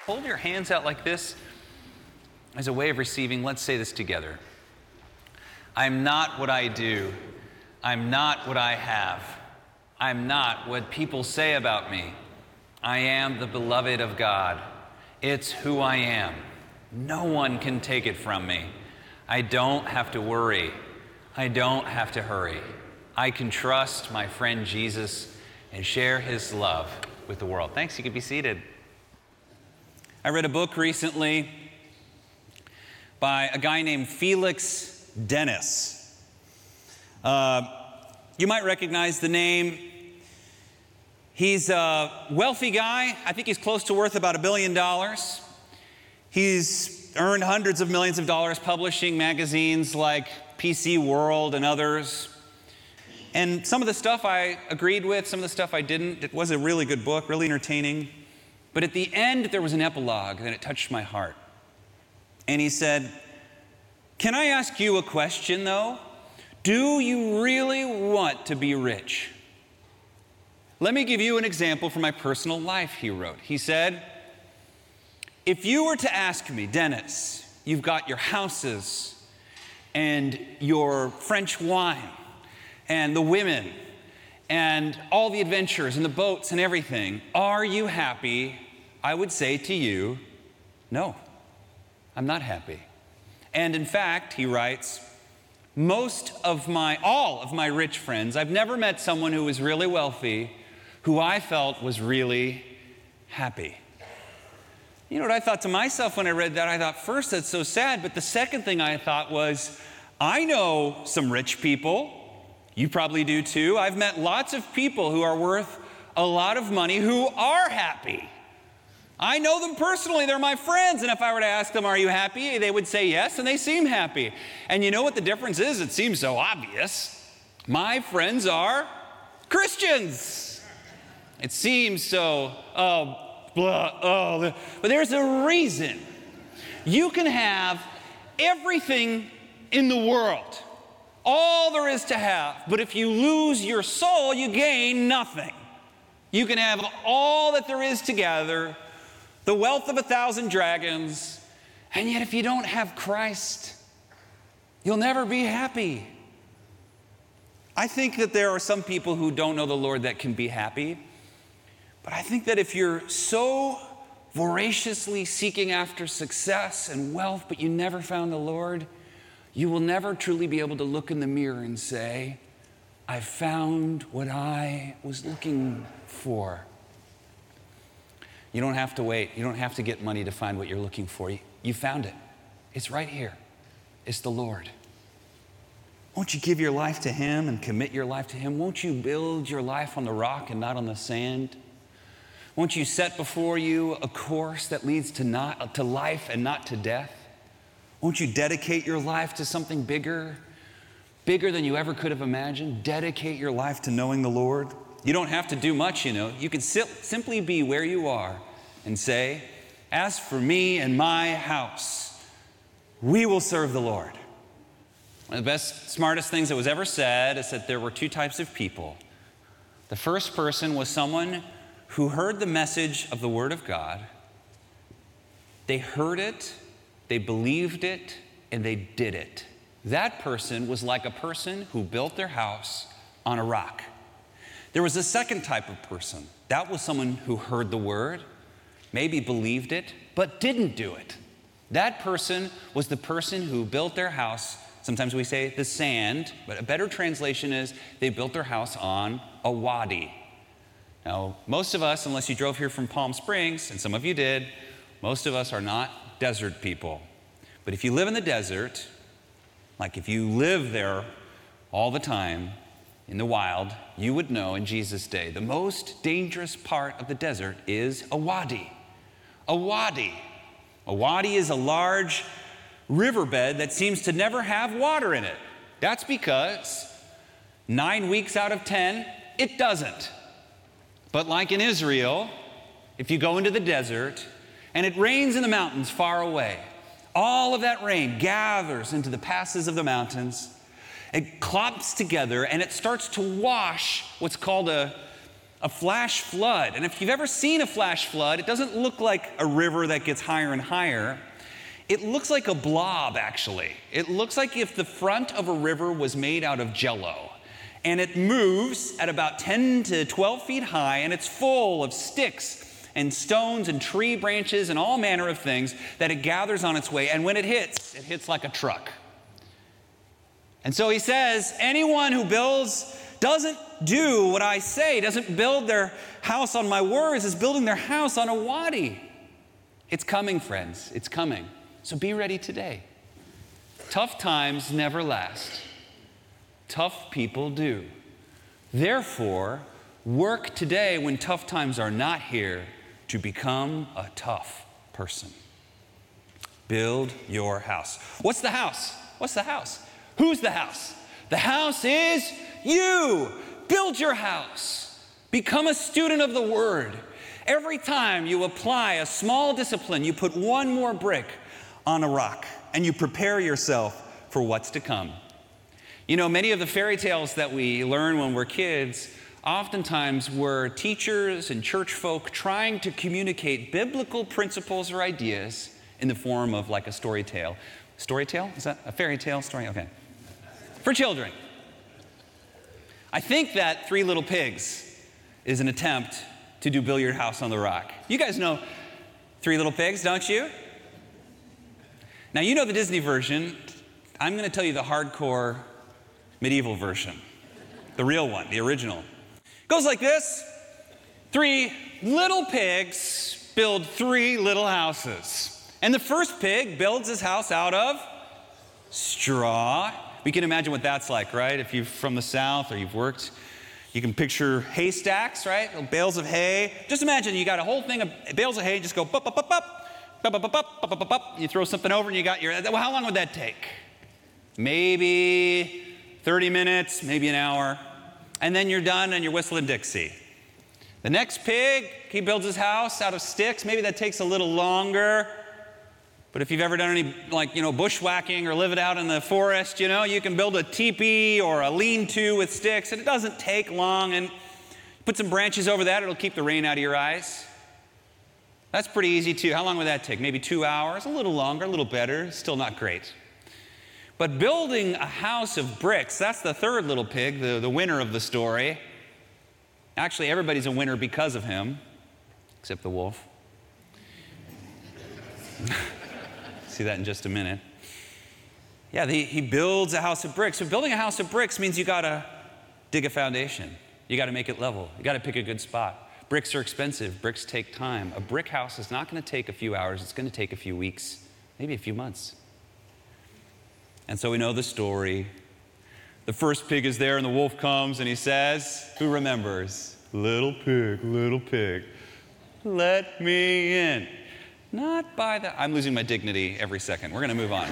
Hold your hands out like this as a way of receiving. Let's say this together. I'm not what I do. I'm not what I have. I'm not what people say about me. I am the beloved of God. It's who I am. No one can take it from me. I don't have to worry. I don't have to hurry. I can trust my friend Jesus and share his love with the world. Thanks, you can be seated. I read a book recently by a guy named Felix Dennis. You might recognize the name. He's a wealthy guy. I think he's close to worth about $1 billion. He's earned hundreds of millions of dollars publishing magazines like PC World and others. And some of the stuff I agreed with, some of the stuff I didn't. It was a really good book, really entertaining. But at the end, there was an epilogue, and it touched my heart. And he said, "Can I ask you a question, though? Do you really want to be rich? Let me give you an example from my personal life," he wrote. He said, "If you were to ask me, Dennis, you've got your houses and your French wine and the women and all the adventures and the boats and everything, are you happy? I would say to you, no, I'm not happy. And in fact," he writes, all of my rich friends, I've never met someone who was really wealthy who I felt was really happy." You know what I thought to myself when I read that? I thought, first, that's so sad. But the second thing I thought was, I know some rich people. You probably do too. I've met lots of people who are worth a lot of money who are happy. I know them personally. They're my friends. And if I were to ask them, are you happy? They would say yes, and they seem happy. And you know what the difference is? It seems so obvious. My friends are Christians. It seems so, but there's a reason. You can have everything in the world, all there is to have, but if you lose your soul, you gain nothing. You can have all that there is to gather, the wealth of 1,000 dragons, and yet if you don't have Christ, you'll never be happy. I think that there are some people who don't know the Lord that can be happy, but I think that if you're so voraciously seeking after success and wealth, but you never found the Lord, you will never truly be able to look in the mirror and say, I found what I was looking for. You don't have to wait. You don't have to get money to find what you're looking for. You found it. It's right here. It's the Lord. Won't you give your life to Him and commit your life to Him? Won't you build your life on the rock and not on the sand? Won't you set before you a course that leads to life and not to death? Won't you dedicate your life to something bigger than you ever could have imagined? Dedicate your life to knowing the Lord. You don't have to do much, you know. You can simply be where you are and say, as for me and my house, we will serve the Lord. One of the best, smartest things that was ever said is that there were two types of people. The first person was someone who heard the message of the Word of God. They heard it, they believed it, and they did it. That person was like a person who built their house on a rock. There was a second type of person. That was someone who heard the Word, maybe believed it, but didn't do it. That person was the person who built their house. Sometimes we say the sand, but a better translation is they built their house on a wadi. Now, most of us, unless you drove here from Palm Springs, and some of you did, most of us are not desert people. But if you live in the desert, like if you live there all the time in the wild, you would know in Jesus' day, the most dangerous part of the desert is a wadi. A wadi. A wadi is a large riverbed that seems to never have water in it. That's because 9 weeks out of 10, it doesn't. But like in Israel, if you go into the desert and it rains in the mountains far away, all of that rain gathers into the passes of the mountains. It clops together and it starts to wash what's called a a flash flood. And if you've ever seen a flash flood, it doesn't look like a river that gets higher and higher. It looks like a blob, actually. It looks like if the front of a river was made out of jello. And it moves at about 10 to 12 feet high, and it's full of sticks and stones and tree branches and all manner of things that it gathers on its way. And when it hits like a truck. And so he says, anyone who doesn't do what I say, doesn't build their house on my words, is building their house on a wadi. It's coming, friends. It's coming. So be ready today. Tough times never last. Tough people do. Therefore, work today when tough times are not here to become a tough person. Build your house. What's the house? What's the house? Who's the house? The house is you. Build your house. Become a student of the Word. Every time you apply a small discipline, you put one more brick on a rock, and you prepare yourself for what's to come. You know, many of the fairy tales that we learn when we're kids oftentimes were teachers and church folk trying to communicate biblical principles or ideas in the form of like a story tale. Story tale? Is that a fairy tale story? Okay. For children. I think that Three Little Pigs is an attempt to do Build Your House on the Rock. You guys know Three Little Pigs, don't you? Now, you know the Disney version. I'm going to tell you the hardcore medieval version, the real one, the original. It goes like this. 3 little pigs build 3 little houses. And the first pig builds his house out of straw. We can imagine what that's like, right? If you're from the South or you've worked, you can picture haystacks, right? Bales of hay. Just imagine you got a whole thing of bales of hay, just go bup, bup, bup, bup. You throw something over and you got your, well, how long would that take? Maybe 30 minutes, maybe an hour. And then you're done and you're whistling Dixie. The next pig, he builds his house out of sticks. Maybe that takes a little longer. But if you've ever done any, bushwhacking or lived out in the forest, you can build a teepee or a lean-to with sticks, and it doesn't take long. And put some branches over that, it'll keep the rain out of your eyes. That's pretty easy too. How long would that take? Maybe 2 hours, a little longer, a little better, still not great. But building a house of bricks, that's the third little pig, the winner of the story. Actually, everybody's a winner because of him, except the wolf. See that in just a minute. Yeah, he builds a house of bricks. So building a house of bricks means you got to dig a foundation. You got to make it level. You got to pick a good spot. Bricks are expensive. Bricks take time. A brick house is not going to take a few hours. It's going to take a few weeks, maybe a few months. And so we know the story. The first pig is there, and the wolf comes, and he says, who remembers? Little pig, let me in. Not by the... I'm losing my dignity every second. We're going to move on.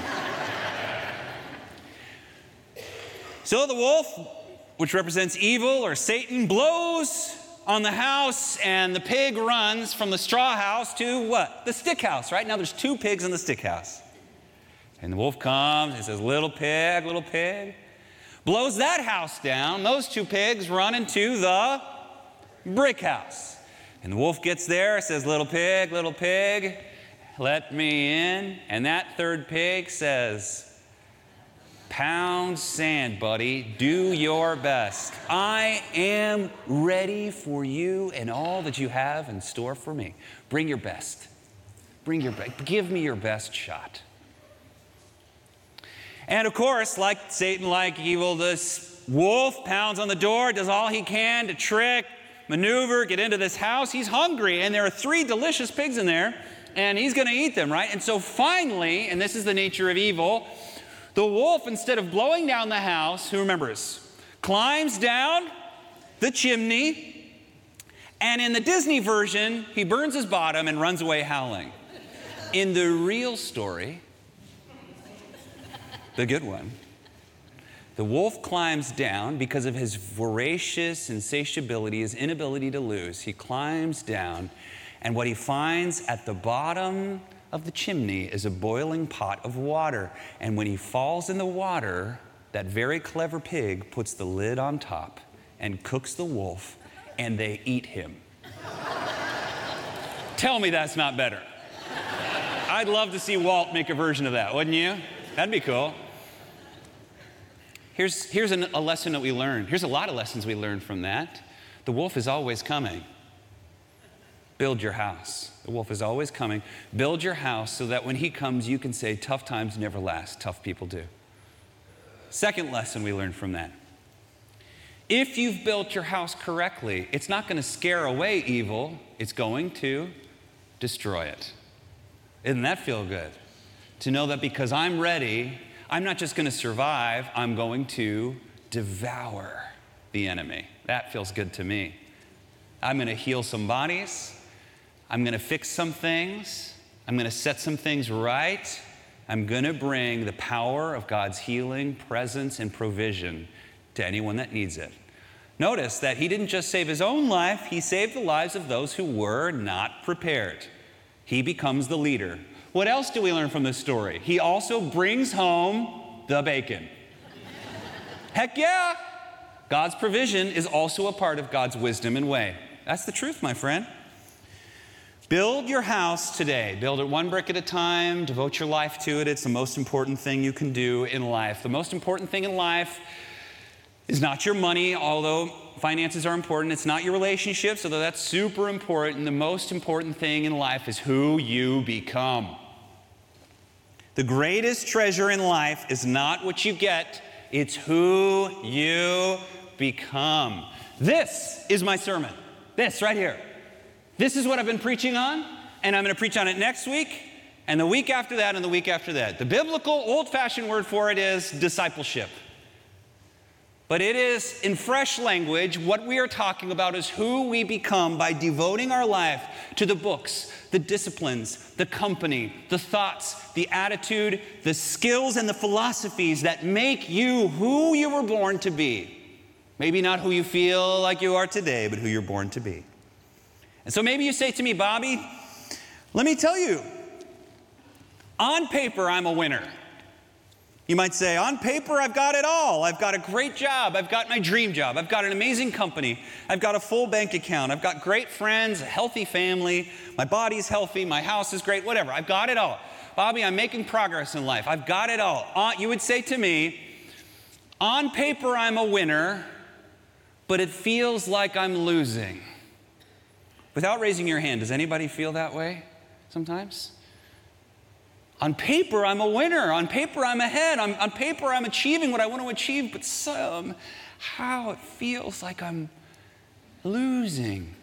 So the wolf, which represents evil or Satan, blows on the house, and the pig runs from the straw house to what? The stick house, right? Now there's 2 pigs in the stick house. And the wolf comes and says, little pig, blows that house down. Those 2 pigs run into the brick house. And the wolf gets there, says, little pig, let me in. And that third pig says, pound sand, buddy, do your best. I am ready for you and all that you have in store for me. Bring your best. Give me your best shot. And of course, like Satan, like evil, this wolf pounds on the door, does all he can to trick, maneuver, get into this house. He's hungry, and there are 3 delicious pigs in there, and he's going to eat them, right? And so finally, and this is the nature of evil, the wolf, instead of blowing down the house, who remembers, climbs down the chimney, and in the Disney version, he burns his bottom and runs away howling. In the real story, the good one, the wolf climbs down because of his voracious insatiability, his inability to lose. He climbs down, and what he finds at the bottom of the chimney is a boiling pot of water. And when he falls in the water, that very clever pig puts the lid on top and cooks the wolf and they eat him. Tell me that's not better. I'd love to see Walt make a version of that, wouldn't you? That'd be cool. Here's a lesson that we learned. Here's a lot of lessons we learned from that. The wolf is always coming. Build your house. The wolf is always coming. Build your house so that when he comes, you can say, tough times never last. Tough people do. Second lesson we learned from that. If you've built your house correctly, it's not going to scare away evil. It's going to destroy it. Doesn't that feel good? To know that because I'm ready, I'm not just going to survive, I'm going to devour the enemy. That feels good to me. I'm going to heal some bodies. I'm going to fix some things. I'm going to set some things right. I'm going to bring the power of God's healing, presence, and provision to anyone that needs it. Notice that he didn't just save his own life, he saved the lives of those who were not prepared. He becomes the leader. What else do we learn from this story? He also brings home the bacon. Heck yeah! God's provision is also a part of God's wisdom and way. That's the truth, my friend. Build your house today. Build it one brick at a time. Devote your life to it. It's the most important thing you can do in life. The most important thing in life is not your money, although finances are important. It's not your relationships, although that's super important. The most important thing in life is who you become. The greatest treasure in life is not what you get, it's who you become. This is my sermon. This right here. This is what I've been preaching on, and I'm going to preach on it next week, and the week after that, and the week after that. The biblical, old-fashioned word for it is discipleship. But it is, in fresh language, what we are talking about is who we become by devoting our life to the books, the disciplines, the company, the thoughts, the attitude, the skills, and the philosophies that make you who you were born to be. Maybe not who you feel like you are today, but who you're born to be. And so maybe you say to me, Bobby, let me tell you, on paper, I'm a winner. You might say, on paper, I've got it all. I've got a great job. I've got my dream job. I've got an amazing company. I've got a full bank account. I've got great friends, a healthy family. My body's healthy. My house is great, whatever. I've got it all. Bobby, I'm making progress in life. I've got it all. You would say to me, on paper, I'm a winner, but it feels like I'm losing. Without raising your hand, does anybody feel that way sometimes? On paper, I'm a winner. On paper, I'm ahead. On paper, I'm achieving what I want to achieve, but somehow it feels like I'm losing.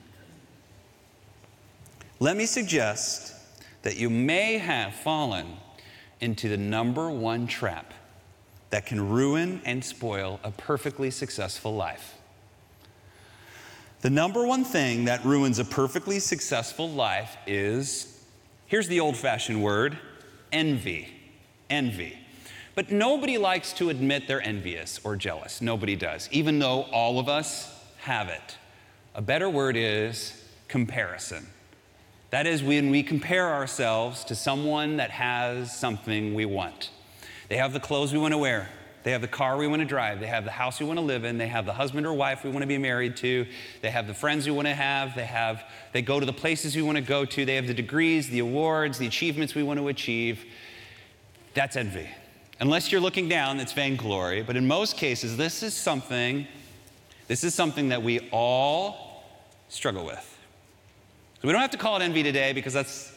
Let me suggest that you may have fallen into the number one trap that can ruin and spoil a perfectly successful life. The number one thing that ruins a perfectly successful life is, here's the old-fashioned word, envy. Envy. But nobody likes to admit they're envious or jealous. Nobody does, even though all of us have it. A better word is comparison. That is when we compare ourselves to someone that has something we want. They have the clothes we want to wear. They have the car we want to drive. They have the house we want to live in. They have the husband or wife we want to be married to. They have the friends we want to have. They go to the places we want to go to. They have the degrees, the awards, the achievements we want to achieve. That's envy. Unless you're looking down, it's vainglory. But in most cases, this is something that we all struggle with. So we don't have to call it envy today because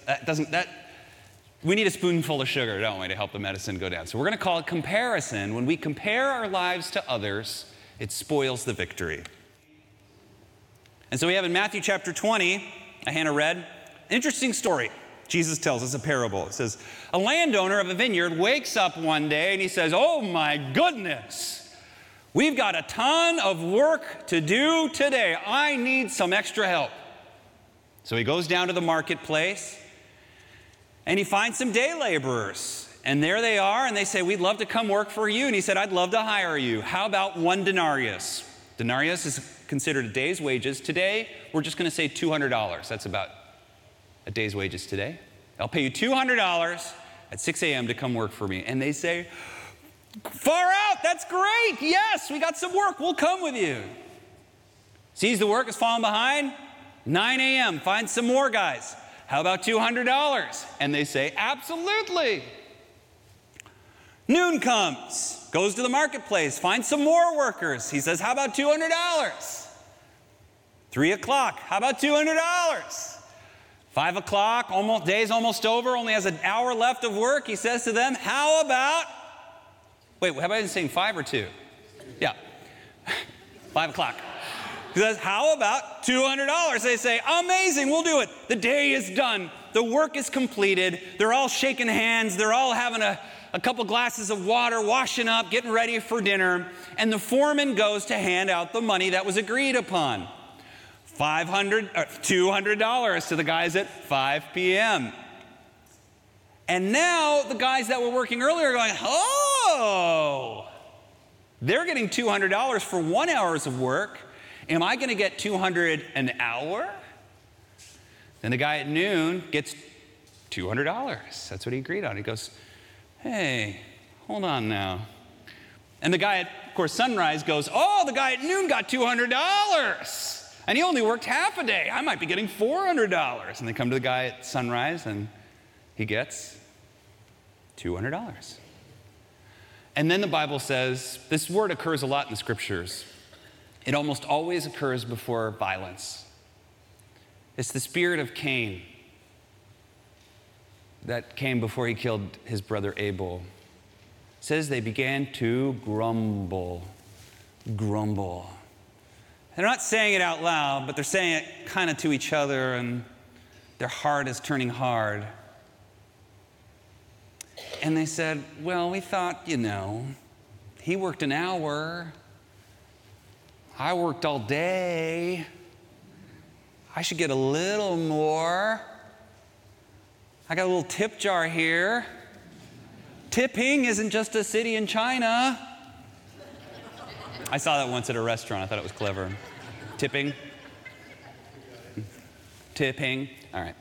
we need a spoonful of sugar, don't we, to help the medicine go down. So we're going to call it comparison. When we compare our lives to others, it spoils the victory. And so we have in Matthew chapter 20, Hannah read, an interesting story. Jesus tells us a parable. It says, a landowner of a vineyard wakes up one day and he says, oh my goodness, we've got a ton of work to do today. I need some extra help. So he goes down to the marketplace and he finds some day laborers. And there they are, and they say, we'd love to come work for you. And he said, I'd love to hire you. How about 1 denarius? Denarius is considered a day's wages. Today, we're just going to say $200. That's about a day's wages today. I'll pay you $200 at 6 a.m. to come work for me. And they say, far out, that's great. Yes, we got some work. We'll come with you. Sees the work is falling behind, 9 a.m., finds some more guys. How about $200? And they say, absolutely. Noon comes, goes to the marketplace, finds some more workers. He says, how about $200? 3 o'clock, how about $200? 5 o'clock, day's almost over, only has an hour left of work. He says to them, how about, how about I saying 5 or 2? Yeah, 5 o'clock. He says, how about $200? They say, amazing, we'll do it. The day is done. The work is completed. They're all shaking hands. They're all having a couple glasses of water, washing up, getting ready for dinner. And the foreman goes to hand out the money that was agreed upon. $200 to the guys at 5 p.m. And now the guys that were working earlier are going, oh, they're getting $200 for 1 hour of work. Am I going to get $200 an hour? Then the guy at noon gets $200. That's what he agreed on. He goes, hey, hold on now. And the guy at, of course, sunrise goes, oh, the guy at noon got $200. And he only worked half a day. I might be getting $400. And they come to the guy at sunrise, and he gets $200. And then the Bible says, this word occurs a lot in the scriptures. It almost always occurs before violence. It's the spirit of Cain that came before he killed his brother Abel. It says they began to grumble. Grumble. They're not saying it out loud, but they're saying it kind of to each other, and their heart is turning hard. And they said, well, we thought, he worked an hour. I worked all day. I should get a little more. I got a little tip jar here. Tipping isn't just a city in China. I saw that once at a restaurant. I thought it was clever. Tipping. Tipping. All right.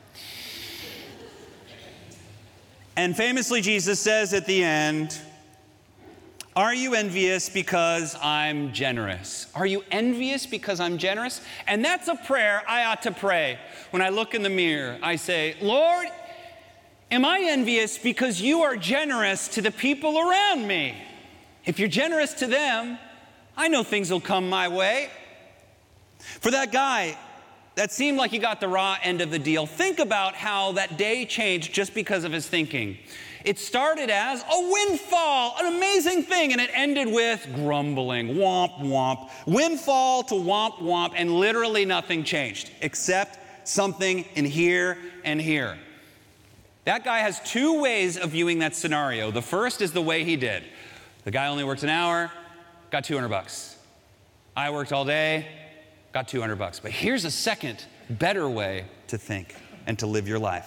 And famously, Jesus says at the end, are you envious because I'm generous? Are you envious because I'm generous? And that's a prayer I ought to pray. When I look in the mirror, I say, Lord, am I envious because you are generous to the people around me? If you're generous to them, I know things will come my way. For that guy that seemed like he got the raw end of the deal, think about how that day changed just because of his thinking. It started as a windfall, an amazing thing, and it ended with grumbling, womp, womp. Windfall to womp, womp, and literally nothing changed except something in here and here. That guy has two ways of viewing that scenario. The first is the way he did. The guy only worked an hour, got $200. I worked all day, got $200. But here's a second, better way to think and to live your life.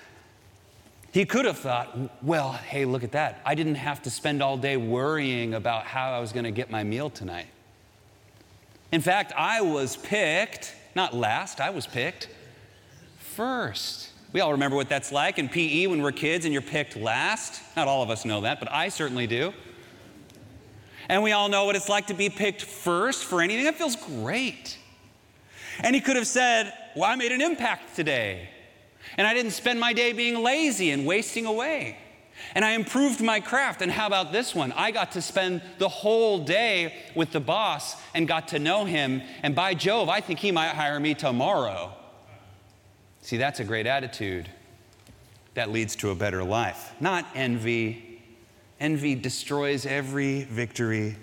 He could have thought, well, hey, look at that. I didn't have to spend all day worrying about how I was going to get my meal tonight. In fact, I was picked, not last, I was picked first. We all remember what that's like in PE when we're kids and you're picked last. Not all of us know that, but I certainly do. And we all know what it's like to be picked first for anything. That feels great. And he could have said, well, I made an impact today. And I didn't spend my day being lazy and wasting away. And I improved my craft. And how about this one? I got to spend the whole day with the boss and got to know him. And by Jove, I think he might hire me tomorrow. See, that's a great attitude. That leads to a better life. Not envy. Envy destroys every victory.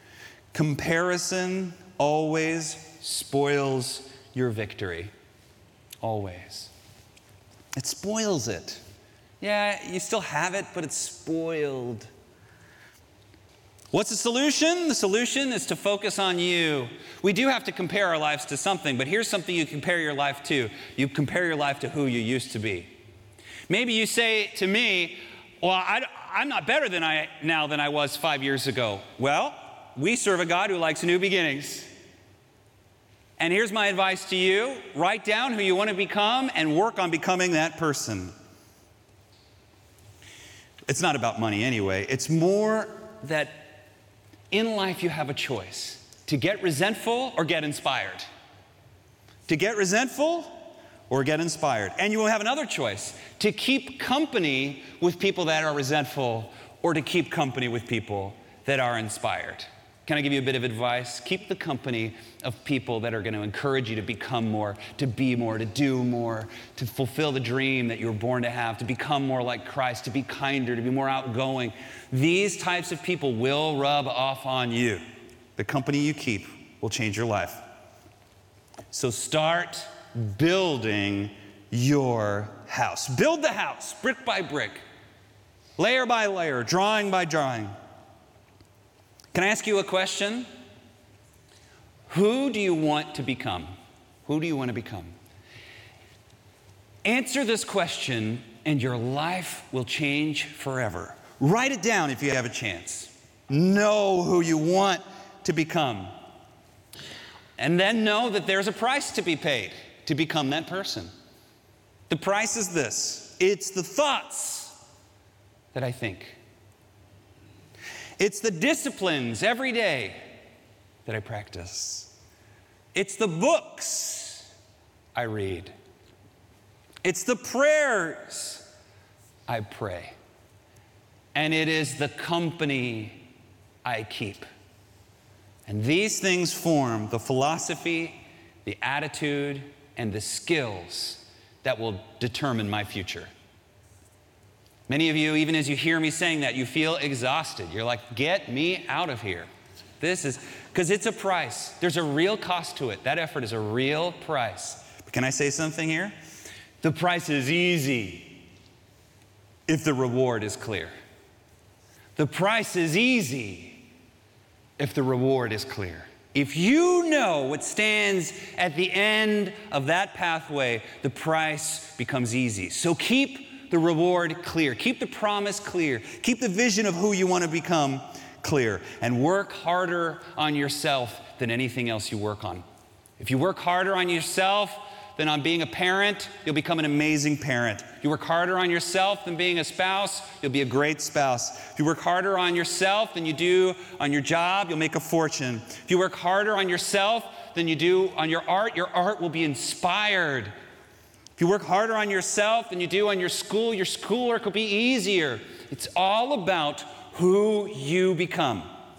Comparison always spoils your victory. Always. It spoils it. Yeah, you still have it, but it's spoiled. What's the solution? The solution is to focus on you. We do have to compare our lives to something, but here's something you compare your life to. You compare your life to who you used to be. Maybe you say to me, well, I'm not better than I was 5 years ago. Well, we serve a God who likes new beginnings. And here's my advice to you. Write down who you want to become and work on becoming that person. It's not about money anyway. It's more that in life you have a choice to get resentful or get inspired. to get resentful or get inspired. And you will have another choice, to keep company with people that are resentful or to keep company with people that are inspired. Can I give you a bit of advice? Keep the company of people that are going to encourage you to become more, to be more, to do more, to fulfill the dream that you were born to have, to become more like Christ, to be kinder, to be more outgoing. These types of people will rub off on you. The company you keep will change your life. So start building your house. Build the house, brick by brick, layer by layer, drawing by drawing. Can I ask you a question? Who do you want to become? Who do you want to become? Answer this question and your life will change forever. Write it down if you have a chance. Know who you want to become. And then know that there's a price to be paid to become that person. The price is this. It's the thoughts that I think. It's the disciplines every day that I practice. It's the books I read. It's the prayers I pray. And it is the company I keep. And these things form the philosophy, the attitude, and the skills that will determine my future. Many of you, even as you hear me saying that, you feel exhausted. You're like, get me out of here. This is, because it's a price. There's a real cost to it. That effort is a real price. But can I say something here? The price is easy if the reward is clear. The price is easy if the reward is clear. If you know what stands at the end of that pathway, the price becomes easy. So keep the reward clear. Keep the promise clear. Keep the vision of who you want to become clear. And work harder on yourself than anything else you work on. If you work harder on yourself than on being a parent, you'll become an amazing parent. If you work harder on yourself than being a spouse, you'll be a great spouse. If you work harder on yourself than you do on your job, you'll make a fortune. If you work harder on yourself than you do on your art will be inspired. If you work harder on yourself than you do on your schoolwork will be easier. It's all about who you become.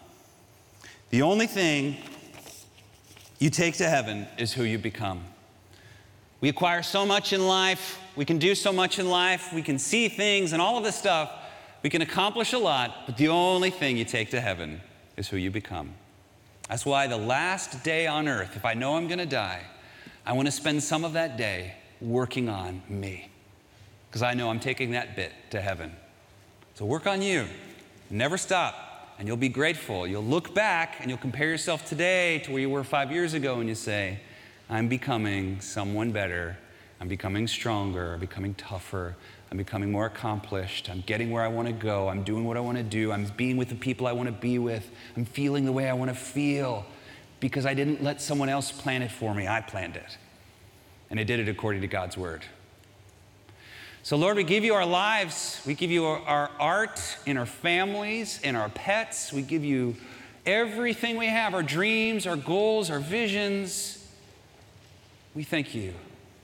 The only thing you take to heaven is who you become. We acquire so much in life. We can do so much in life. We can see things and all of this stuff. We can accomplish a lot, but the only thing you take to heaven is who you become. That's why the last day on earth, if I know I'm going to die, I want to spend some of that day working on me, because I know I'm taking that bit to heaven. So work on you. Never stop, and you'll be grateful. You'll look back and you'll compare yourself today to where you were 5 years ago, and you say, I'm becoming someone better. I'm becoming stronger. I'm becoming tougher. I'm becoming more accomplished. I'm getting where I want to go. I'm doing what I want to do. I'm being with the people I want to be with. I'm feeling the way I want to feel, because I didn't let someone else plan it for me. I planned it. And I did it according to God's word. So Lord, we give you our lives. We give you our art and our families and our pets. We give you everything we have, our dreams, our goals, our visions. We thank you.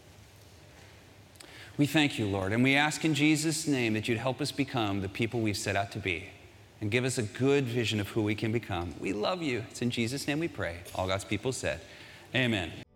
We thank you, Lord. And we ask in Jesus' name that you'd help us become the people we've set out to be and give us a good vision of who we can become. We love you. It's in Jesus' name we pray. All God's people said, amen.